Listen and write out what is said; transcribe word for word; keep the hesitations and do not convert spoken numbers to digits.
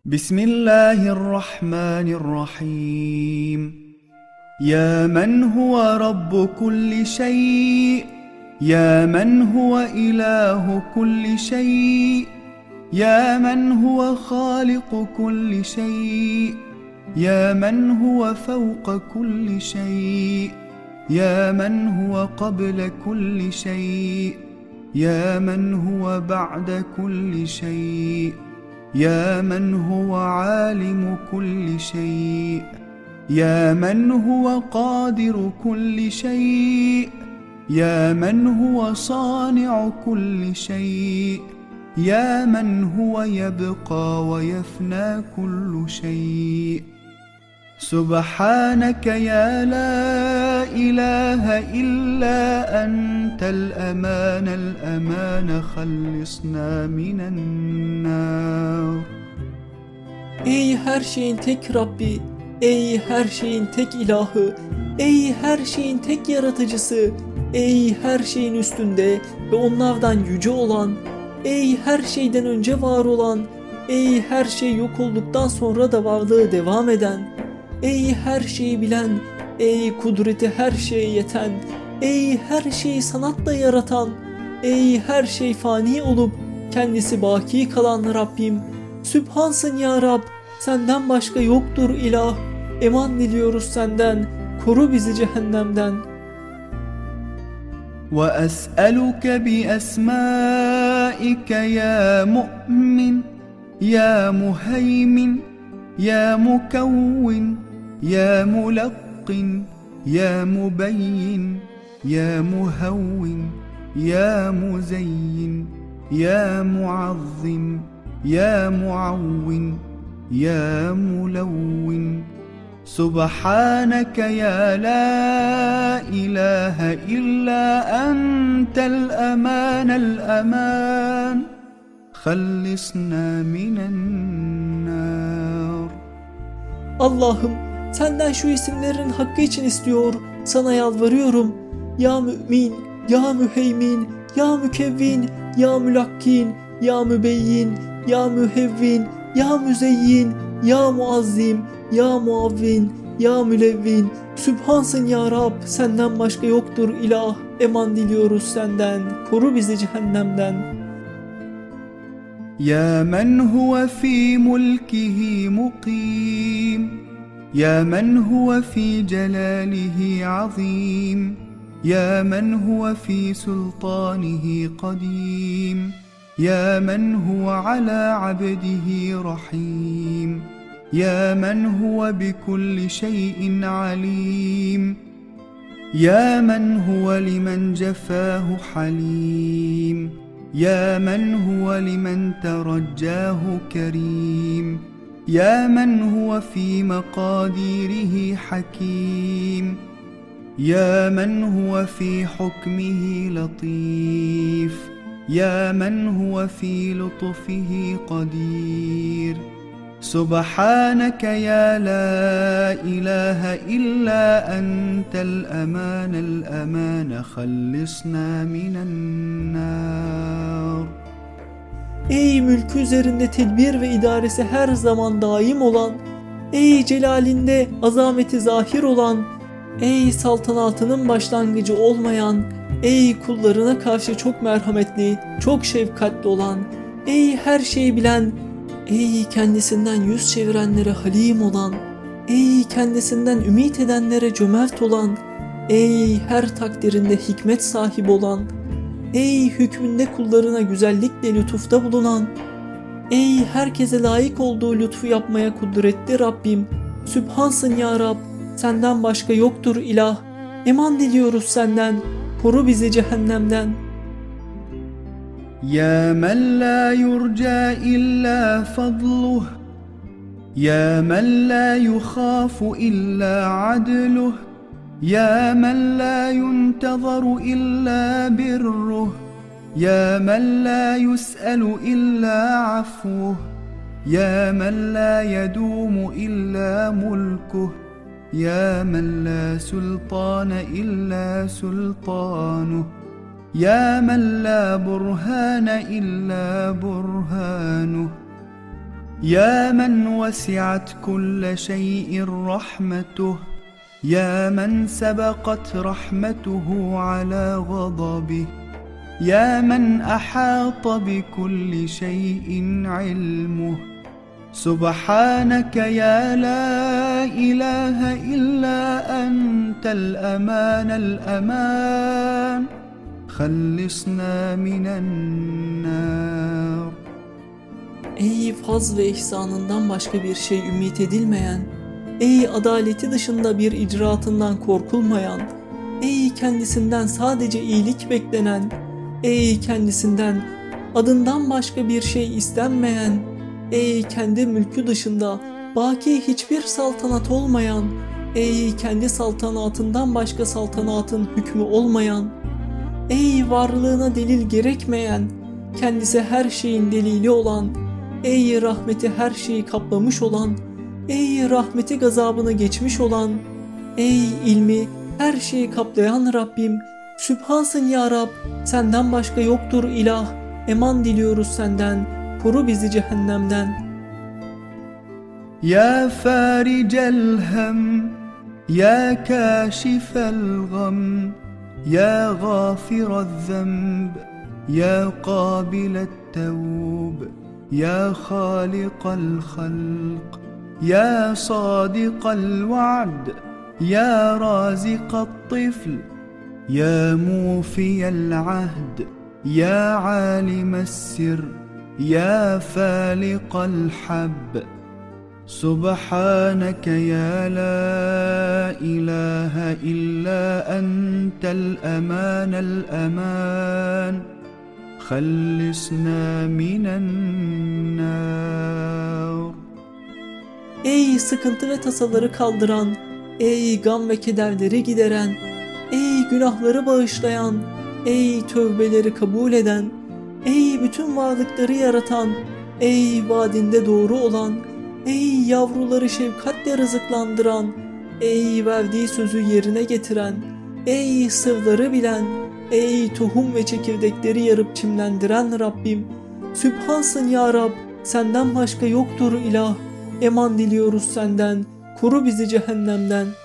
بسم الله الرحمن الرحيم. يا من هو رب كل شيء، يا من هو إله كل شيء، يا من هو خالق كل شيء، يا من هو فوق كل شيء، يا من هو قبل كل شيء، يا من هو بعد كل شيء، يا من هو عالم كل شيء، يا من هو قادر كل شيء، يا من هو صانع كل شيء، يا من هو يبقى ويفنى كل شيء. سبحانك يا لا إله إلا أنت الأمان الأمان خلصنا من النار. Ey her şeyin tek Rabbi, ey her şeyin tek ilahı, ey her şeyin tek yaratıcısı, ey her şeyin üstünde ve onlardan yüce olan, ey her şeyden önce var olan, ey her şey yok olduktan sonra da varlığı devam eden, ey her şeyi bilen, ey kudreti her şeye yeten, ey her şeyi sanatla yaratan, ey her şey fani olup kendisi baki kalan Rabbim, Sübhansın ya Rab, senden başka yoktur ilah, eman diliyoruz senden, koru bizi cehennemden. وأسألك بأسمائك يا مؤمن يا مهيمن يا مكون يا ملقن يا مبين يا مهون يا مزين يا معظم يا معون يا ملون. سبحانك يا لا إله إلا أنت الأمان الأمان خلصنا من النار. Allah'ım, senden şu isimlerin hakkı için istiyor, sana yalvarıyorum. Ya mümin, ya müheymin, ya mükevvin, ya mülakkin, ya mübeyyin, ya mühevvin, ya müzeyyin, ya muazzim, ya muavvin, ya mülevvin. Sübhansın ya Rab, senden başka yoktur ilah, eman diliyoruz senden, koru bizi cehennemden. يا من هو في ملكه مقيم، يا من هو في جلاله عظيم، يا من هو في سلطانه قديم، يا من هو على عبده رحيم، يا من هو بكل شيء عليم، يا من هو لمن جفاه حليم، يا من هو لمن ترجاه كريم، يا من هو في مقاديره حكيم، يا من هو في حكمه لطيف، يا من هو في لطفه قدير. سبحانك يا لا إله إلا أنت الأمان الأمان خلصنا من النار. Ey mülkü üzerinde tedbir ve idaresi her zaman daim olan, ey celalinde azameti zahir olan, ey saltanatının başlangıcı olmayan, ey kullarına karşı çok merhametli, çok şefkatli olan, ey her şeyi bilen, ey kendisinden yüz çevirenlere halim olan, ey kendisinden ümit edenlere cömert olan, ey her takdirinde hikmet sahibi olan, ey hükmünde kullarına güzellikle lütufta bulunan, ey herkese layık olduğu lütfu yapmaya kudretli Rabbim, Sübhansın ya Rab, senden başka yoktur ilah, eman diliyoruz senden, koru bizi cehennemden. يا من لا يرجى إلا فضله، يا من لا يخاف إلا عدله، يا من لا ينتظر إلا بره، يا من لا يسأل إلا عفوه، يا من لا يدوم إلا ملكه، يا من لا سلطان إلا سلطانه، يا من لا برهان إلا برهانه، يا من وسعت كل شيء رحمته يا من سبقت رحمته على غضبه يا من أحاط بكل شيء علمه سبحانك يا لا إله إلا أنت الأمان الأمان خلصنا من النار. Ey faz ve ihsanından başka bir şey ümit edilmeyen, ey adaleti dışında bir icraatından korkulmayan, ey kendisinden sadece iyilik beklenen, ey kendisinden adından başka bir şey istenmeyen, ey kendi mülkü dışında baki hiçbir saltanat olmayan, ey kendi saltanatından başka saltanatın hükmü olmayan, ey varlığına delil gerekmeyen, kendisi her şeyin delili olan, ey rahmeti her şeyi kaplamış olan, ey rahmeti gazabını geçmiş olan, ey ilmi her şeyi kaplayan Rabbim, Sübhansın ya Rab, senden başka yoktur ilah, eman diliyoruz senden, koru bizi cehennemden. Ya faricel hem, ya kâşifel gam, ya gâfirel zemb, ya kâbilet tevb, ya hâlikal halq, ya sâdikal va'd, ya râzikal tifl, ya mufiyel ahd, ya âlimel sir, ya fâliqal hab. سبحانك يا لا إله إلا أنت الأمان الأمان خلصنا من النار. Ey sıkıntı ve tasaları kaldıran, ey gam ve kederleri gideren, ey günahları bağışlayan, ey tövbeleri kabul eden, ey bütün varlıkları yaratan, ey vaadinde doğru olan, ey yavruları şefkatle rızıklandıran, ey verdiği sözü yerine getiren, ey sırları bilen, ey tohum ve çekirdekleri yarıp çimlendiren Rabbim, Sübhansın ya Rab, senden başka yoktur ilah, eman diliyoruz senden, koru bizi cehennemden.